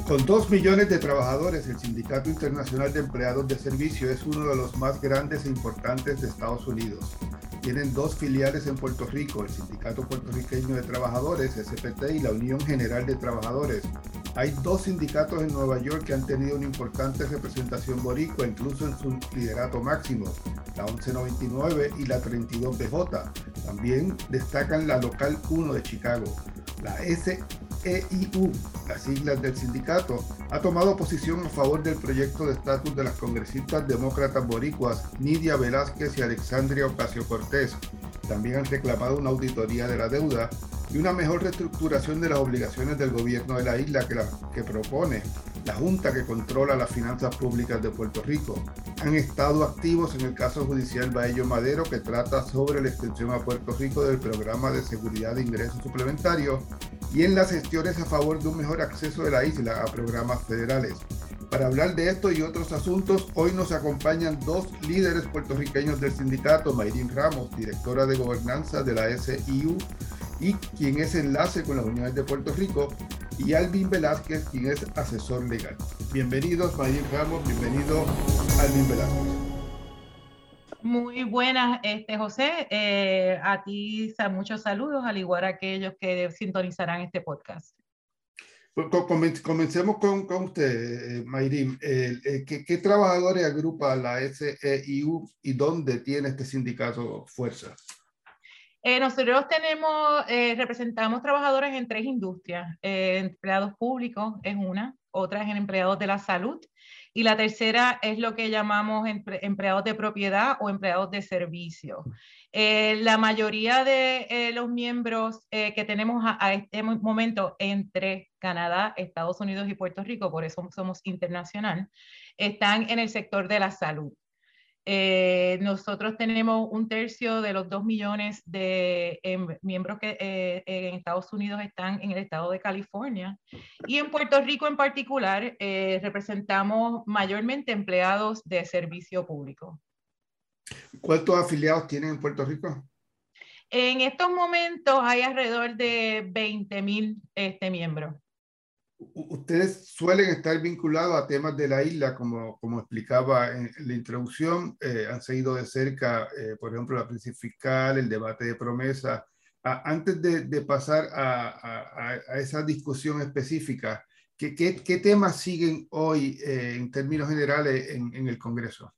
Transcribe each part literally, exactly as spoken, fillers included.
Con dos millones de trabajadores, el Sindicato Internacional de Empleados de Servicio es uno de los más grandes e importantes de Estados Unidos. Tienen dos filiales en Puerto Rico, el Sindicato Puertorriqueño de Trabajadores, S P T, y la Unión General de Trabajadores. Hay dos sindicatos en Nueva York que han tenido una importante representación boricua, incluso en su liderato máximo, la once noventa y nueve y la treinta y dos B J. También destacan la Local uno de Chicago. La S E I U, las siglas del sindicato, ha tomado posición a favor del proyecto de estatus de las congresistas demócratas boricuas Nidia Velázquez y Alexandria Ocasio-Cortez. También han reclamado una auditoría de la deuda y una mejor reestructuración de las obligaciones del gobierno de la isla que, la, que propone la Junta que controla las finanzas públicas de Puerto Rico. Han estado activos en el caso judicial Baello Madero, que trata sobre la extensión a Puerto Rico del programa de seguridad de ingresos suplementarios, y en las gestiones a favor de un mejor acceso de la isla a programas federales. Para hablar de esto y otros asuntos, hoy nos acompañan dos líderes puertorriqueños del sindicato, Mayrín Ramos, directora de gobernanza de la S E I U y quien es enlace con las unidades de Puerto Rico, y Alvin Velázquez, quien es asesor legal. Bienvenidos, Mayrín Ramos, bienvenido Alvin Velázquez. Muy buenas, este, José. Eh, a ti muchos saludos, al igual a aquellos que sintonizarán este podcast. Comencemos con, con usted, eh, Mayrín. Eh, eh, ¿qué, ¿Qué trabajadores agrupa la S E I U y dónde tiene este sindicato fuerza? Eh, nosotros tenemos, eh, representamos trabajadores en tres industrias. Eh, empleados públicos es una, otra es en empleados de la salud, y la tercera es lo que llamamos empre empleados de propiedad o empleados de servicio. Eh, la mayoría de eh, los miembros eh, que tenemos a, a este momento entre Canadá, Estados Unidos y Puerto Rico, por eso somos internacional, están en el sector de la salud. Eh, nosotros tenemos un tercio de los dos millones de eh, miembros que eh, en Estados Unidos están en el estado de California, y en Puerto Rico en particular eh, representamos mayormente empleados de servicio público. ¿Cuántos afiliados tienen en Puerto Rico? En estos momentos hay alrededor de veinte mil este, miembros. Ustedes suelen estar vinculados a temas de la isla, como, como explicaba en la introducción. Eh, han seguido de cerca, eh, por ejemplo, la crisis fiscal, el debate de promesas. Ah, antes de, de pasar a, a, a esa discusión específica, ¿qué, qué, qué temas siguen hoy eh, en términos generales en, en el Congreso?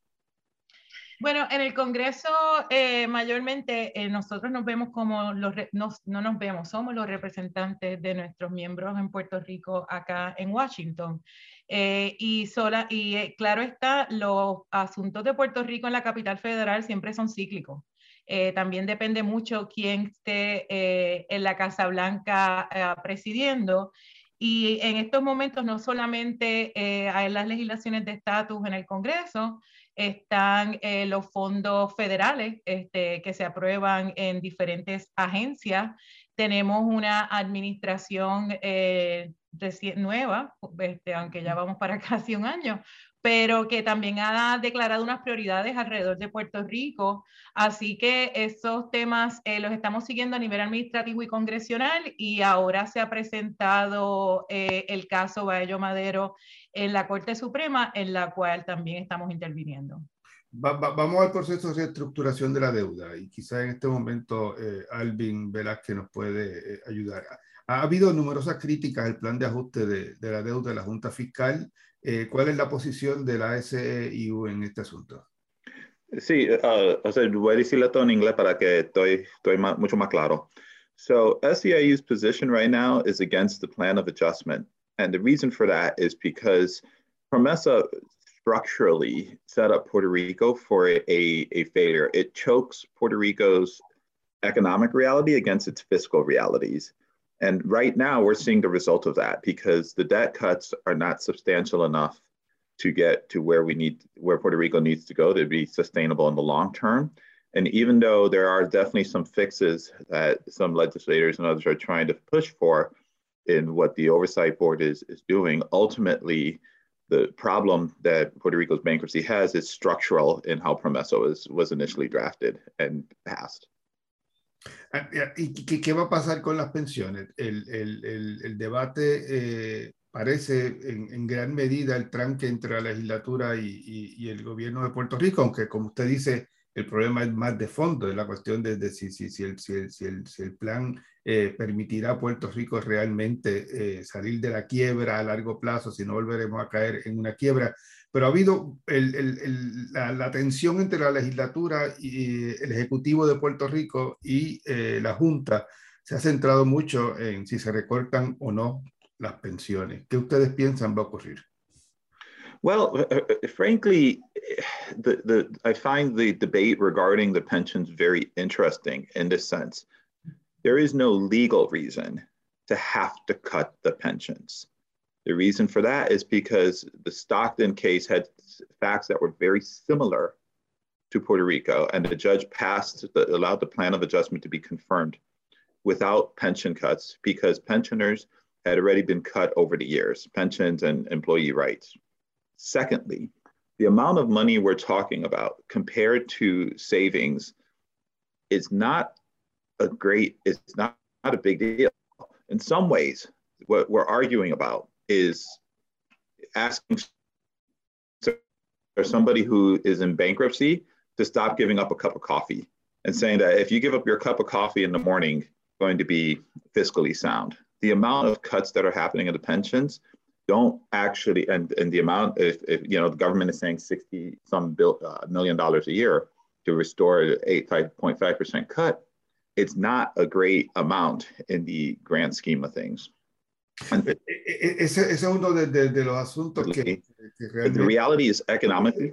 Bueno, en el Congreso eh, mayormente eh, nosotros nos vemos como los, nos, no nos vemos, somos los representantes de nuestros miembros en Puerto Rico acá en Washington. Eh, y sola, y eh, claro está, los asuntos de Puerto Rico en la capital federal siempre son cíclicos. Eh, también depende mucho quién esté eh, en la Casa Blanca eh, presidiendo. Y en estos momentos no solamente eh, hay las legislaciones de estatus en el Congreso, están eh, los fondos federales este, que se aprueban en diferentes agencias. Tenemos una administración eh, nueva, este, aunque ya vamos para casi un año, pero que también ha declarado unas prioridades alrededor de Puerto Rico. Así que esos temas eh, los estamos siguiendo a nivel administrativo y congresional, y ahora se ha presentado eh, el caso Baello Madero en la Corte Suprema, en la cual también estamos interviniendo. Va, va, vamos al proceso de reestructuración de la deuda, y quizá en este momento eh, Alvin Velázquez nos puede eh, ayudar. Ha habido numerosas críticas al plan de ajuste de, de la deuda de la Junta Fiscal. Eh, ¿Cuál es la posición de la S E I U en este asunto? Sí, uh, o sea, voy a decirlo todo en inglés para que estoy, estoy más, mucho más claro. So S E I U's position right now is against the plan of adjustment. And the reason for that is because PROMESA structurally set up Puerto Rico for a, a failure. It chokes Puerto Rico's economic reality against its fiscal realities. And right now we're seeing the result of that because the debt cuts are not substantial enough to get to where we need, where Puerto Rico needs to go to be sustainable in the long term. And even though there are definitely some fixes that some legislators and others are trying to push for in what the Oversight Board is, is doing, ultimately, the problem that Puerto Rico's bankruptcy has is structural in how PROMESA was, was initially drafted and passed. ¿Y qué, qué va a pasar con las pensiones? El, el, el, el debate eh, parece en, en gran medida el tranque entre la legislatura y, y, y el gobierno de Puerto Rico, aunque como usted dice, el problema es más de fondo, es la cuestión de, de si, si, si, el, si, el, si, el, si el plan eh, permitirá a Puerto Rico realmente eh, salir de la quiebra a largo plazo, si no volveremos a caer en una quiebra. Pero ha habido el, el, el, la, la tensión entre la legislatura y el Ejecutivo de Puerto Rico y eh, la Junta se ha centrado mucho en si se recortan o no las pensiones. ¿Qué ustedes piensan va a ocurrir? Well, uh, frankly, the, the, I find the debate regarding the pensions very interesting in this sense. There is no legal reason to have to cut the pensions. The reason for that is because the Stockton case had facts that were very similar to Puerto Rico, and the judge passed, the, allowed the plan of adjustment to be confirmed without pension cuts because pensioners had already been cut over the years, pensions and employee rights. Secondly, the amount of money we're talking about compared to savings is not a great, it's not, not a big deal. In some ways, what we're arguing about is asking for somebody who is in bankruptcy to stop giving up a cup of coffee and saying that if you give up your cup of coffee in the morning, it's going to be fiscally sound. The amount of cuts that are happening in the pensions don't actually, and, and the amount, if, if you know, the government is saying sixty some bill, uh, million dollars a year to restore an eight point five percent cut, it's not a great amount in the grand scheme of things. And ese, ese es uno de, de, de los asuntos que, que realmente... The reality is economically.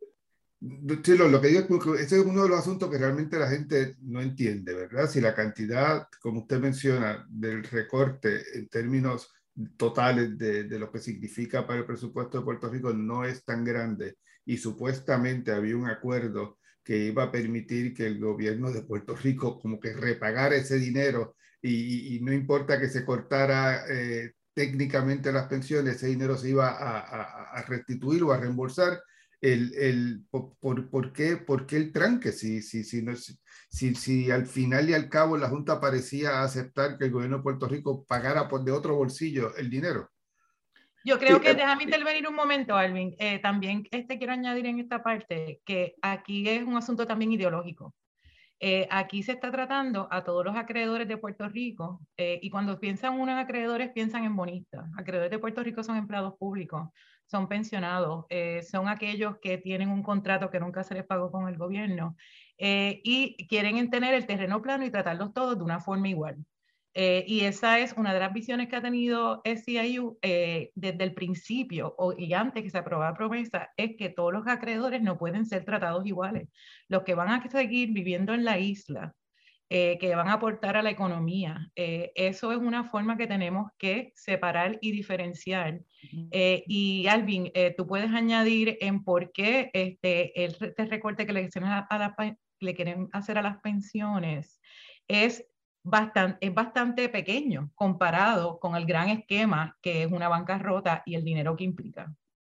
Sí, lo, lo que digo es que ese es uno de los asuntos que realmente la gente no entiende, ¿verdad? Si la cantidad, como usted menciona, del recorte en términos totales de, de lo que significa para el presupuesto de Puerto Rico no es tan grande y supuestamente había un acuerdo que iba a permitir que el gobierno de Puerto Rico como que repagara ese dinero y, y, y no importa que se cortara eh, técnicamente las pensiones, ese dinero se iba a, a, a restituir o a reembolsar. El, el, por, por, qué, ¿Por qué el tranque? Si, si, si, no, si, si al final y al cabo la Junta parecía aceptar que el gobierno de Puerto Rico pagara por de otro bolsillo el dinero. Yo creo que, déjame intervenir un momento, Alvin. Eh, también este, quiero añadir en esta parte que aquí es un asunto también ideológico. Eh, aquí se está tratando a todos los acreedores de Puerto Rico eh, y cuando piensan unos acreedores piensan en bonistas. Acreedores de Puerto Rico son empleados públicos, son pensionados, eh, son aquellos que tienen un contrato que nunca se les pagó con el gobierno eh, y quieren tener el terreno plano y tratarlos todos de una forma igual. Eh, y esa es una de las visiones que ha tenido S E I U eh, desde el principio o, y antes que se aprobara la promesa, es que todos los acreedores no pueden ser tratados iguales. Los que van a seguir viviendo en la isla, eh, que van a aportar a la economía, eh, eso es una forma que tenemos que separar y diferenciar. Eh, y Alvin, eh, tú puedes añadir en por qué este, el, este recorte que le, a, a la, le quieren hacer a las pensiones es Bastante, es bastante pequeño comparado con el gran esquema que es una bancarrota y el dinero que implica.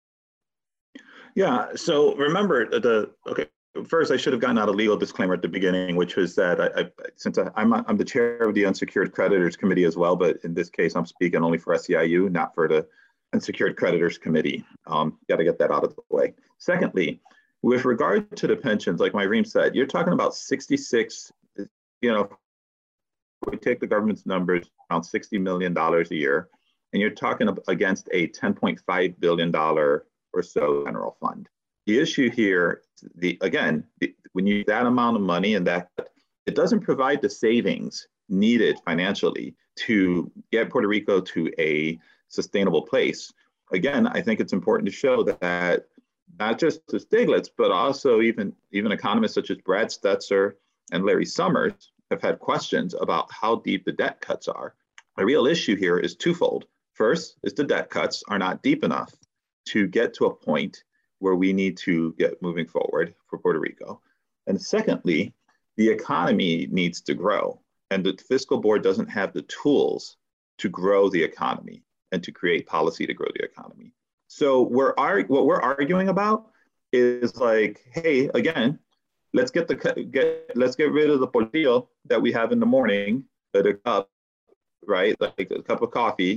Yeah, so remember the, okay, first I should have gotten out a legal disclaimer at the beginning, which was that I, I since I, I'm, I'm the chair of the Unsecured Creditors Committee as well, but in this case, I'm speaking only for S E I U, not for the Unsecured Creditors Committee. Um, got to get that out of the way. Secondly, with regard to the pensions, like Myrene said, you're talking about sixty-six, you know, we take the government's numbers, around sixty million dollars a year, and you're talking against a ten point five billion dollars or so general fund. The issue here, the again, the, when you that amount of money and that, it doesn't provide the savings needed financially to get Puerto Rico to a sustainable place. Again, I think it's important to show that not just to Stiglitz, but also even, even economists such as Brad Stetzer and Larry Summers have had questions about how deep the debt cuts are. The real issue here is twofold. First is the debt cuts are not deep enough to get to a point where we need to get moving forward for Puerto Rico. And secondly, the economy needs to grow, and the fiscal board doesn't have the tools to grow the economy and to create policy to grow the economy. So we're what we're arguing about is like, hey, again, let's get the get let's get rid of the portillo that we have in the morning, the cup, right? Like a cup of coffee,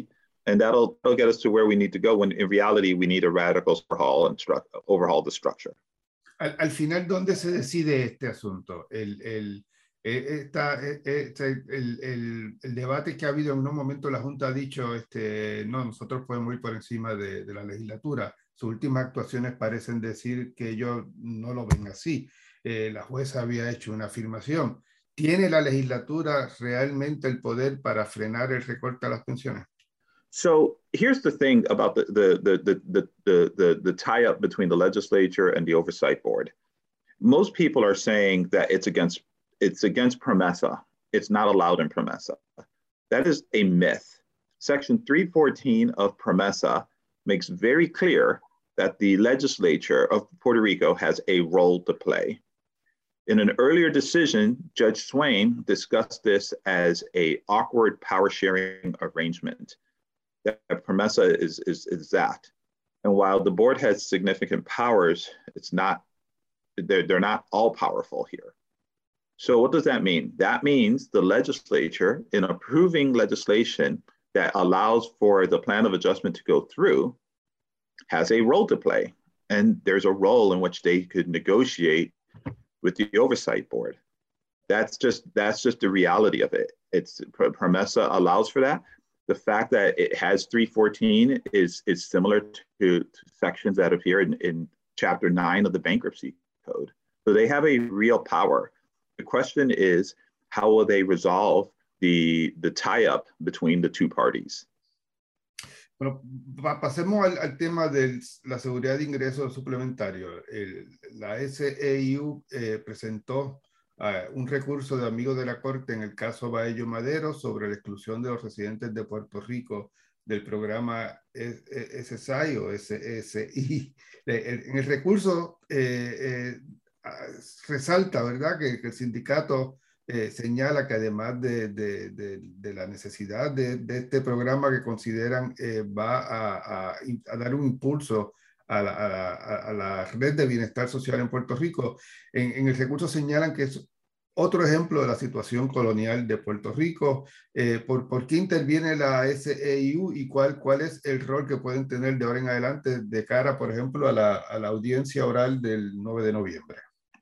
And that'll, that'll get us to where we need to go when in reality we need a radical overhaul and overhaul the structure. Al, al final, ¿dónde se decide este asunto? El, el, esta, este, el, el, el debate que ha habido en un momento, la Junta ha dicho, este, no, nosotros podemos ir por encima de, de la legislatura. Sus últimas actuaciones parecen decir que ellos no lo ven así. Eh, la jueza había hecho una afirmación. ¿Tiene la legislatura realmente el poder para frenar el recorte a las pensiones? So here's the thing about the, the, the, the, the, the, the, the tie-up between the legislature and the oversight board. Most people are saying that it's against, it's against PROMESA. It's not allowed in PROMESA. That is a myth. Section three fourteen of PROMESA makes very clear that the legislature of Puerto Rico has a role to play. In an earlier decision, Judge Swain discussed this as an awkward power sharing arrangement. That PROMESA is, is, is that. And while the board has significant powers, it's not, they're, they're not all powerful here. So what does that mean? That means the legislature, in approving legislation that allows for the plan of adjustment to go through, has a role to play. And there's a role in which they could negotiate with the oversight board. That's just, that's just the reality of it. It's, PROMESA allows for that. The fact that it has three fourteen is, is similar to, to sections that appear in, in chapter nine of the bankruptcy code. So they have a real power. The question is, how will they resolve the, the tie-up between the two parties? Bueno, pasemos al, al tema de la seguridad de ingresos suplementario. El, la S E U eh, presentó Uh, un recurso de amigos de la Corte en el caso Baello Madero sobre la exclusión de los residentes de Puerto Rico del programa S S I o S S I. En el recurso eh, eh, resalta, ¿verdad?, que, que el sindicato eh, señala que además de, de, de, de la necesidad de, de este programa que consideran eh, va a, a, a dar un impulso a la, a, la, a la red de bienestar social en Puerto Rico, en, en el recurso señalan que es otro ejemplo de la situación colonial de Puerto Rico. Eh, ¿por, ¿Por qué interviene la S E U y cuál, cuál es el rol que pueden tener de ahora en adelante de cara, por ejemplo, a la, a la audiencia oral del nueve de noviembre?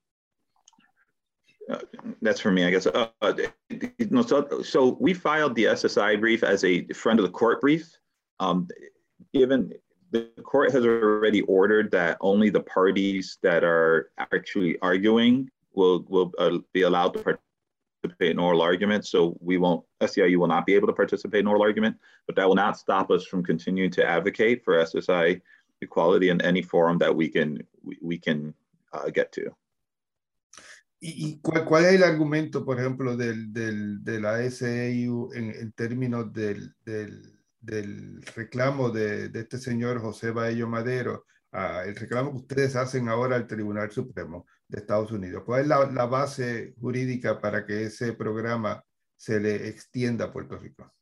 Uh, that's for me, I guess. Uh, no, so, so we filed the S S I brief as a friend of the court brief. Um, given the court has already ordered that only the parties that are actually arguing will, will uh, be allowed to participate in oral arguments. So we won't, S E I U will not be able to participate in oral argument, but that will not stop us from continuing to advocate for S S I equality in any forum that we can, we, we can uh, get to. ¿Y cuál, cuál es el argumento, por ejemplo, del, del, de la S E U en, en términos del, del, del reclamo de, de este señor José Baello Madero, uh, el reclamo que ustedes hacen ahora al Tribunal Supremo de Estados Unidos? ¿Cuál es la, la base jurídica para que ese programa se le extienda a Puerto Rico?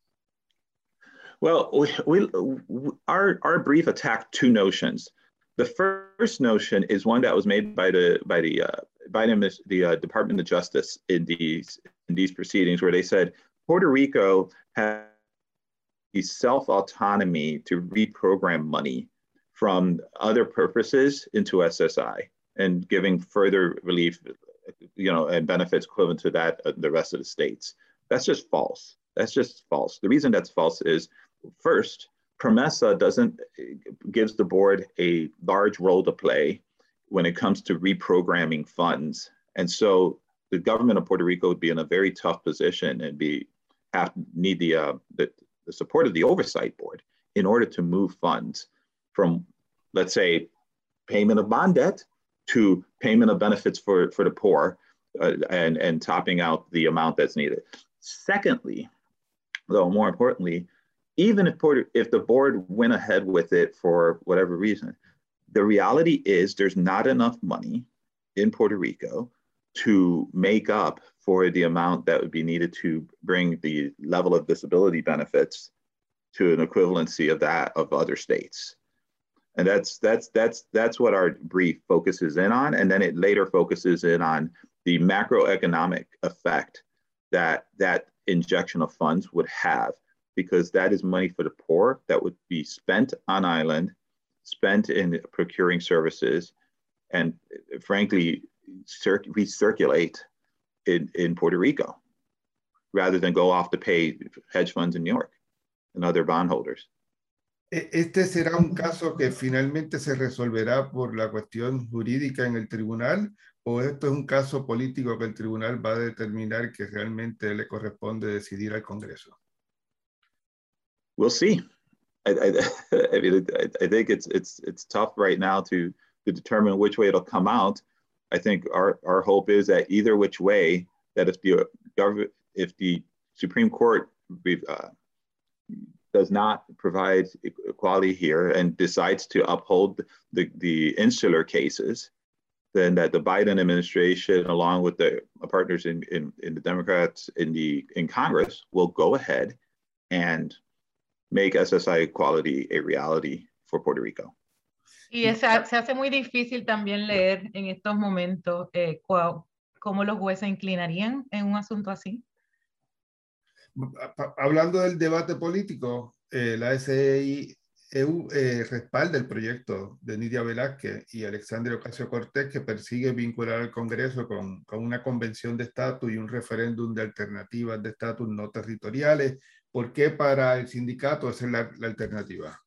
Well, we, we, our, our brief attacked two notions. The first notion is one that was made by the by the uh, by the, the uh, Department of Justice in these in these proceedings, where they said Puerto Rico has the self-autonomy to reprogram money from other purposes into S S I and giving further relief, you know, and benefits equivalent to that of the rest of the states. That's just false. That's just false. The reason that's false is, first, PROMESA doesn't, gives the board a large role to play when it comes to reprogramming funds. And so the government of Puerto Rico would be in a very tough position and be have need the, uh, the, the support of the oversight board in order to move funds from, let's say, payment of bond debt to payment of benefits for, for the poor uh, and, and topping out the amount that's needed. Secondly, though more importantly, even if, Puerto, if the board went ahead with it for whatever reason, the reality is there's not enough money in Puerto Rico to make up for the amount that would be needed to bring the level of disability benefits to an equivalency of that of other states. And that's, that's, that's, that's what our brief focuses in on. And then it later focuses in on the macroeconomic effect that that injection of funds would have. because that is money for the poor that would be spent on island, spent in procuring services, and frankly, recirculate in, in Puerto Rico, rather than go off to pay hedge funds in New York and other bondholders. ¿Este será un caso que finalmente se resolverá por la cuestión jurídica en el tribunal, o esto es un caso político que el tribunal va a determinar que realmente le corresponde decidir al Congreso? We'll see. I, I, I mean, I, I think it's it's it's tough right now to to determine which way it'll come out. I think our our hope is that either which way, that if the government, if the Supreme Court uh, does not provide equality here and decides to uphold the, the insular cases, then that the Biden administration, along with the partners in, in, in the Democrats in the in Congress, will go ahead and make S S I equality a reality for Puerto Rico. Y esa, se hace muy difícil también leer en estos momentos eh, cómo los jueces inclinarían en un asunto así. Hablando del debate político, eh, la S I E U eh, respalda el proyecto de Nidia Velázquez y Alexandria Ocasio-Cortez, que persigue vincular al Congreso con, con una convención de estatus y un referéndum de alternativas de estatus no territoriales. ¿Por qué para el sindicato esa es la, la alternativa?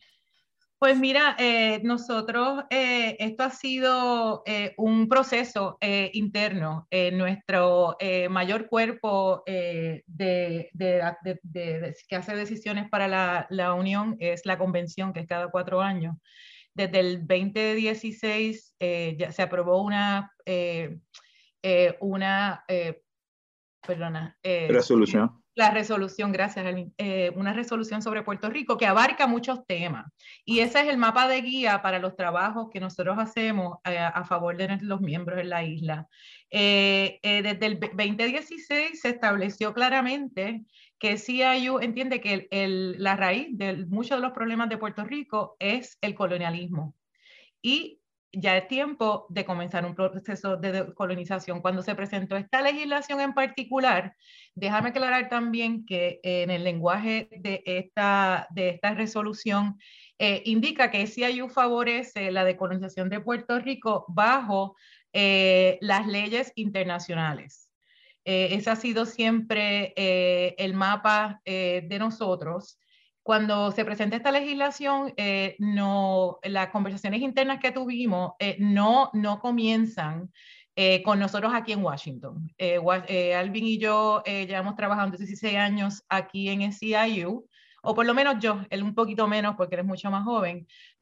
Pues mira, eh, nosotros, eh, esto ha sido eh, un proceso eh, interno. Eh, nuestro eh, mayor cuerpo eh, de, de, de, de, de, que hace decisiones para la, la Unión es la convención, que es cada cuatro años. Desde el veinte dieciséis eh, ya se aprobó una, eh, eh, una eh, perdona, eh, resolución. La resolución, gracias, Alvin, eh, una resolución sobre Puerto Rico que abarca muchos temas. Y ese es el mapa de guía para los trabajos que nosotros hacemos eh, a favor de los miembros en la isla. Eh, eh, desde el veinte dieciséis se estableció claramente que C I U entiende que el, el, la raíz de muchos de los problemas de Puerto Rico es el colonialismo. Y ya es tiempo de comenzar un proceso de colonización. Cuando se presentó esta legislación en particular, déjame aclarar también que en el lenguaje de esta, de esta resolución eh, indica que C I U favorece la decolonización de Puerto Rico bajo eh, las leyes internacionales. Eh, ese ha sido siempre eh, el mapa eh, de nosotros. Cuando se presenta esta legislación, eh, no, las conversaciones internas que tuvimos eh, no, no comienzan eh, con nosotros aquí en Washington. Eh, eh, Alvin y yo eh, llevamos trabajando dieciséis años aquí en S E I U, o por lo menos yo, él un poquito menos porque eres mucho más joven,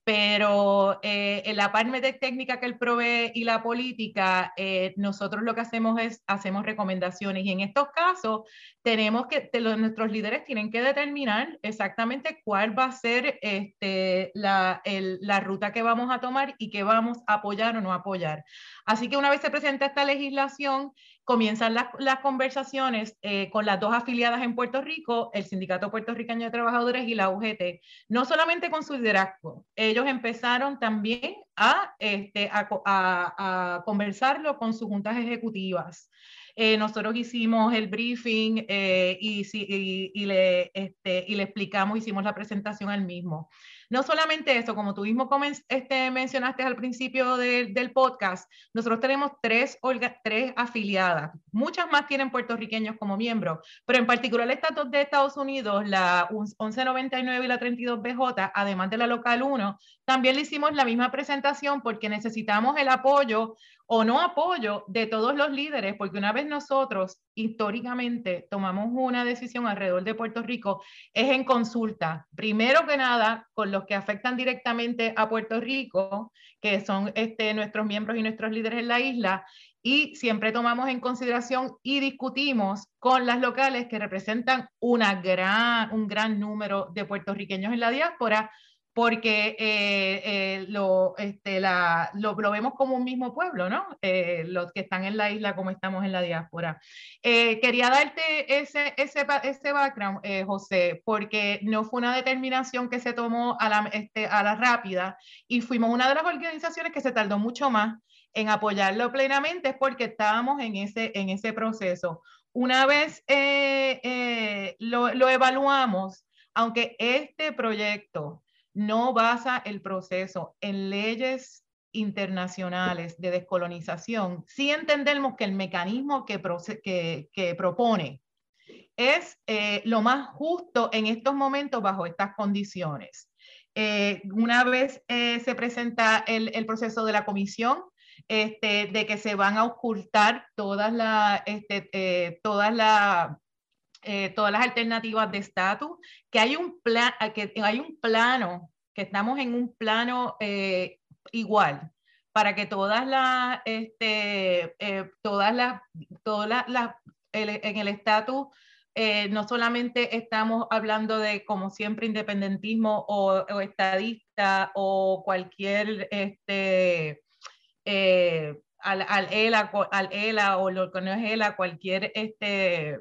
pero eh, en la parte de técnica que él provee y la política, eh, nosotros lo que hacemos es, hacemos recomendaciones, y en estos casos tenemos que, los, nuestros líderes tienen que determinar exactamente cuál va a ser este, la, el, la ruta que vamos a tomar y qué vamos a apoyar o no apoyar. Así que una vez se presenta esta legislación, comienzan las, las conversaciones eh, con las dos afiliadas en Puerto Rico, el Sindicato Puertorriqueño de Trabajadores y la U G T, no solamente con su liderazgo. Ellos empezaron también a, este, a, a, a conversarlo con sus juntas ejecutivas. Eh, nosotros hicimos el briefing eh, y, y, y, le, este, y le explicamos, hicimos la presentación al mismo. No solamente eso, como tú mismo este, mencionaste al principio de, del podcast, nosotros tenemos tres, tres afiliadas. Muchas más tienen puertorriqueños como miembros, pero en particular estas dos de Estados Unidos, la once noventa y nueve y la treinta y dos B J, además de la local uno, también le hicimos la misma presentación porque necesitamos el apoyo o no apoyo de todos los líderes, porque una vez nosotros históricamente tomamos una decisión alrededor de Puerto Rico, es en consulta, primero que nada, con los que afectan directamente a Puerto Rico, que son este, nuestros miembros y nuestros líderes en la isla, y siempre tomamos en consideración y discutimos con las locales que representan una gran, un gran número de puertorriqueños en la diáspora, porque eh, eh, lo, este, la, lo, lo vemos como un mismo pueblo, ¿no? Eh, los que están en la isla como estamos en la diáspora. Eh, quería darte ese, ese, ese background, eh, José, porque no fue una determinación que se tomó a la, este, a la rápida, y fuimos una de las organizaciones que se tardó mucho más en apoyarlo plenamente, es porque estábamos en ese, en ese proceso. una vez eh, eh, lo, lo evaluamos, aunque este proyecto no basa el proceso en leyes internacionales de descolonización, sí entendemos que el mecanismo que, que, que propone es eh, lo más justo en estos momentos bajo estas condiciones. Eh, una vez eh, se presenta el, el proceso de la comisión, este, de que se van a ocultar todas, la, este, eh, todas, la, eh, todas las alternativas de estatus, que hay un plan, que hay un plano, que estamos en un plano eh, igual, para que todas las, este, eh, todas las, todas las, la, el, en el estatus eh, no solamente estamos hablando de, como siempre, independentismo o, o estadista o cualquier, este, eh, al, al, ELA, al ELA o lo que no es ELA, cualquier, este,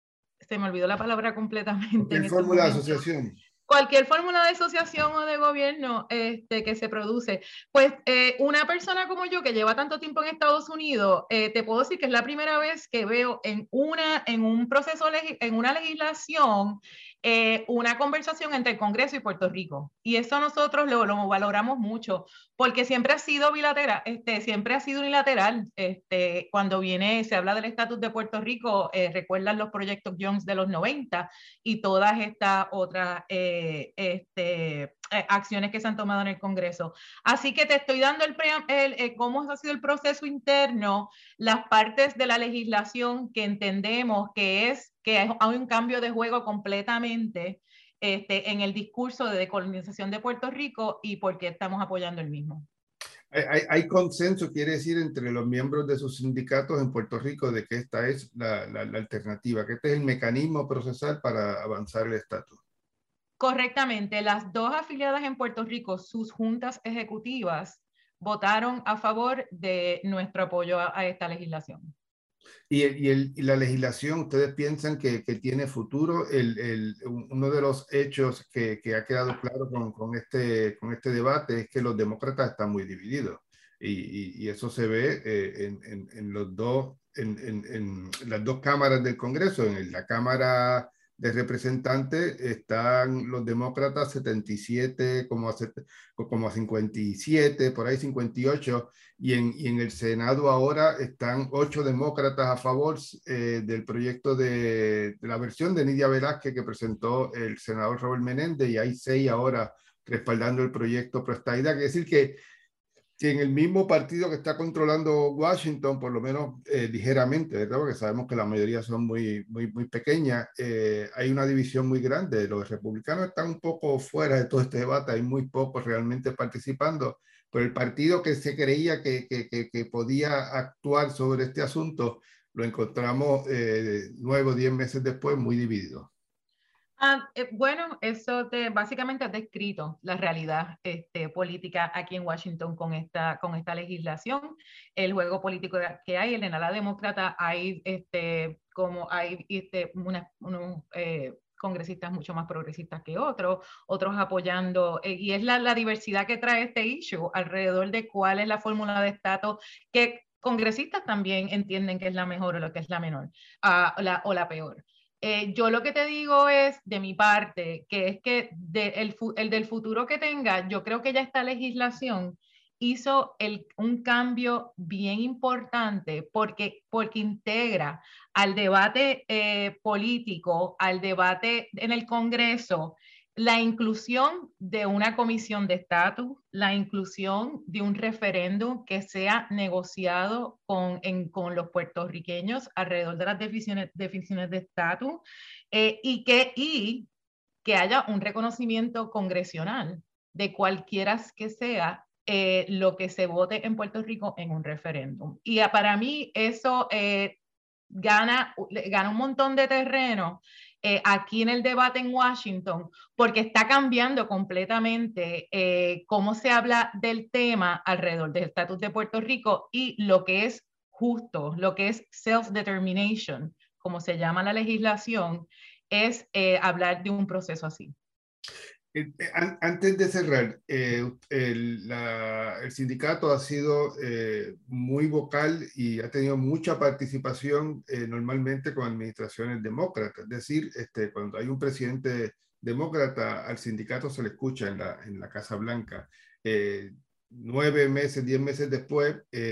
se me olvidó la palabra completamente. Cualquier en fórmula de momentos. asociación. Cualquier fórmula de asociación o de gobierno este, que se produce. Pues eh, una persona como yo que lleva tanto tiempo en Estados Unidos, eh, te puedo decir que es la primera vez que veo en, una, en un proceso, en una legislación, eh, una conversación entre el Congreso y Puerto Rico. Y eso nosotros lo, lo valoramos mucho, porque siempre ha sido bilateral, este, siempre ha sido unilateral. Este, cuando viene, se habla del estatus de Puerto Rico, eh, recuerdan los proyectos Jones de los noventa y todas estas otras eh, este, eh, acciones que se han tomado en el Congreso. Así que te estoy dando el, el, el cómo ha sido el proceso interno, las partes de la legislación que entendemos que es que hay un cambio de juego completamente este, en el discurso de decolonización de Puerto Rico y por qué estamos apoyando el mismo. Hay, hay, hay consenso, quiere decir, entre los miembros de sus sindicatos en Puerto Rico de que esta es la, la, la alternativa, que este es el mecanismo procesal para avanzar el estatus. Correctamente, las dos afiliadas en Puerto Rico, sus juntas ejecutivas, votaron a favor de nuestro apoyo a, a esta legislación. Y, el, y, el, y la legislación, ¿ustedes piensan que, que tiene futuro? El, el, uno de los hechos que, que ha quedado claro con, con, este, con este debate es que los demócratas están muy divididos. Y, y, y eso se ve eh, en, en, en, los dos, en, en, en las dos cámaras del Congreso. En la Cámara de Representantes están los demócratas setenta y siete, como a, como a cincuenta y siete, por ahí cincuenta y ocho, y en, y en el Senado ahora están ocho demócratas a favor eh, del proyecto de, de la versión de Nidia Velázquez que presentó el senador Robert Menéndez, y hay seis ahora respaldando el proyecto pro estadidad. Quiere decir que que en el mismo partido que está controlando Washington, por lo menos eh, ligeramente, ¿verdad? Porque sabemos que la mayoría son muy, muy, muy pequeñas, eh, hay una división muy grande. Los republicanos están un poco fuera de todo este debate, hay muy pocos realmente participando, pero el partido que se creía que, que, que, que podía actuar sobre este asunto, lo encontramos eh, nueve o diez meses después muy dividido. Ah, eh, bueno, eso te, básicamente has descrito la realidad este, política aquí en Washington con esta, con esta legislación, el juego político que hay, el de la demócrata, hay, este, como hay este, una, unos eh, congresistas mucho más progresistas que otros, otros apoyando, eh, y es la, la diversidad que trae este issue alrededor de cuál es la fórmula de estatus que congresistas también entienden que es la mejor o lo que es la menor, uh, la, o la peor. Eh, yo lo que te digo es, de mi parte, que es que de, el, el del futuro que tenga, yo creo que ya esta legislación hizo el, un cambio bien importante porque, porque integra al debate eh, político, al debate en el Congreso, la inclusión de una comisión de estatus, la inclusión de un referéndum que sea negociado con, en, con los puertorriqueños alrededor de las definiciones, definiciones de estatus eh, y, que, y que haya un reconocimiento congresional de cualquiera que sea eh, lo que se vote en Puerto Rico en un referéndum. Y para mí eso eh, gana, gana un montón de terreno Eh, aquí en el debate en Washington, porque está cambiando completamente eh, cómo se habla del tema alrededor del estatus de Puerto Rico y lo que es justo, lo que es self-determination, como se llama la legislación, es eh, hablar de un proceso así. Antes de cerrar, eh, el, la, el sindicato ha sido eh, muy vocal y ha tenido mucha participación eh, normalmente con administraciones demócratas. Es decir, este, cuando hay un presidente demócrata, al sindicato se le escucha en la, en la Casa Blanca. Eh, nueve meses, diez meses después,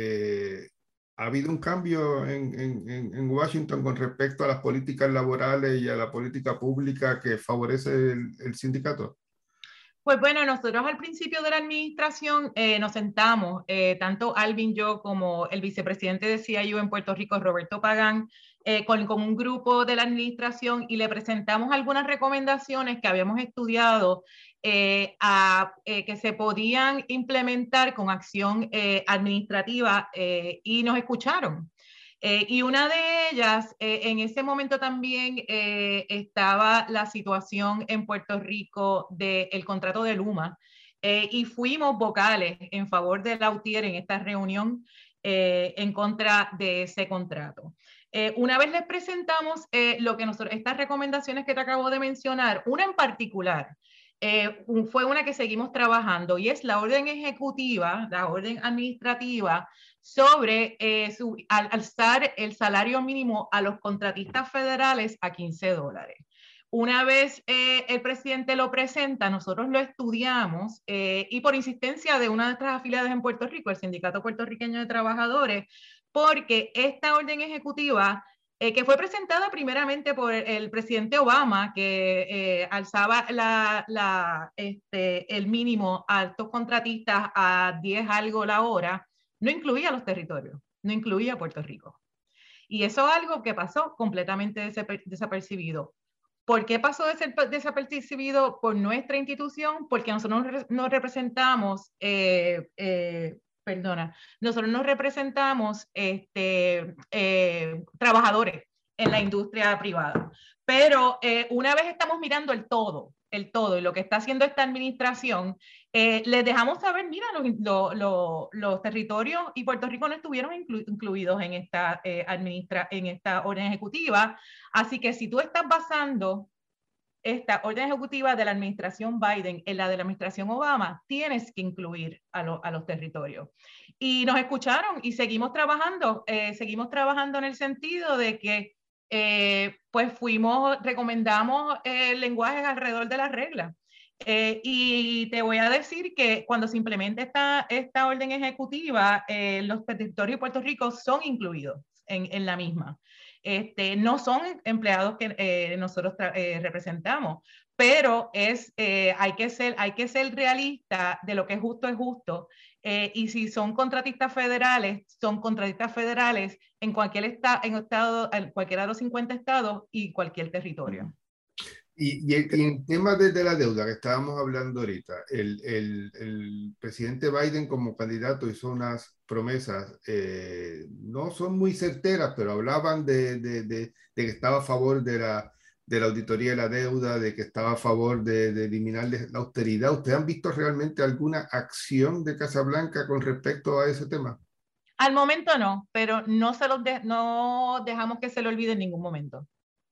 eh, ¿ha habido un cambio en, en, en Washington con respecto a las políticas laborales y a la política pública que favorece el, el sindicato? Pues bueno, nosotros al principio de la administración eh, nos sentamos, eh, tanto Alvin, yo, como el vicepresidente de C I U en Puerto Rico, Roberto Pagán, eh, con, con un grupo de la administración y le presentamos algunas recomendaciones que habíamos estudiado eh, a, eh, que se podían implementar con acción eh, administrativa eh, y nos escucharon. Eh, y una de ellas, eh, en ese momento también eh, estaba la situación en Puerto Rico del contrato de Luma eh, y fuimos vocales en favor de Lautier en esta reunión eh, en contra de ese contrato. Eh, una vez les presentamos eh, lo que nosotros, estas recomendaciones que te acabo de mencionar, una en particular, eh, fue una que seguimos trabajando y es la orden ejecutiva, la orden administrativa sobre eh, su, al, alzar el salario mínimo a los contratistas federales a quince dólares. Una vez eh, el presidente lo presenta, nosotros lo estudiamos eh, y por insistencia de una de nuestras afiliadas en Puerto Rico, el Sindicato Puertorriqueño de Trabajadores, porque esta orden ejecutiva Eh, que fue presentada primeramente por el, el presidente Obama, que eh, alzaba la, la, este, el mínimo a altos contratistas a diez algo la hora, no incluía los territorios, no incluía Puerto Rico. Y eso es algo que pasó completamente desapercibido. ¿Por qué pasó desapercibido por nuestra institución? Porque nosotros nos representamos eh, eh, perdona, nosotros nos representamos este, eh, trabajadores en la industria privada, pero eh, una vez estamos mirando el todo, el todo, y lo que está haciendo esta administración, eh, les dejamos saber, mira, los, lo, lo, los territorios y Puerto Rico no estuvieron inclu, incluidos en esta, eh, administra, en esta orden ejecutiva, así que si tú estás basando esta orden ejecutiva de la administración Biden en la de la administración Obama, tienes que incluir a, lo, a los territorios. Y nos escucharon y seguimos trabajando, eh, seguimos trabajando en el sentido de que eh, pues fuimos, recomendamos eh, lenguajes alrededor de las reglas. Eh, y te voy a decir que cuando se implemente esta, esta orden ejecutiva, eh, los territorios de Puerto Rico son incluidos en, en la misma. Este, no son empleados que eh, nosotros eh, representamos, pero es, eh, hay, que ser, hay que ser realista de lo que es justo es justo. Eh, y si son contratistas federales, son contratistas federales en cualquier esta, en estado, en cualquiera de los cincuenta estados y cualquier territorio. Y, y, el, y en temas de, de la deuda que estábamos hablando ahorita, el, el, el presidente Biden como candidato hizo unas promesas, eh, no son muy certeras, pero hablaban de, de, de, de que estaba a favor de la, de la auditoría de la deuda, de que estaba a favor de, de eliminar la austeridad. ¿Ustedes han visto realmente alguna acción de Casa Blanca con respecto a ese tema? Al momento no, pero no, se los de, no dejamos que se lo olvide en ningún momento.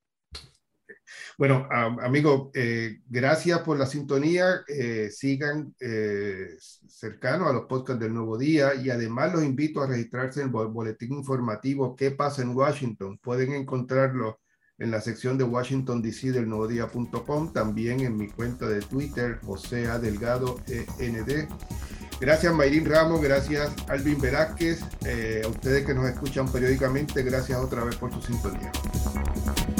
Bueno, um, amigo, eh, gracias por la sintonía. Eh, sigan eh, cercanos a los podcasts del Nuevo Día y además los invito a registrarse en el boletín informativo ¿Qué pasa en Washington? Pueden encontrarlo en la sección de Washington D C del nuevo día punto com, también en mi cuenta de Twitter, José A. Delgado E N D. Gracias Mayrín Ramos, gracias Alvin Velázquez, eh, a ustedes que nos escuchan periódicamente, gracias otra vez por su sintonía.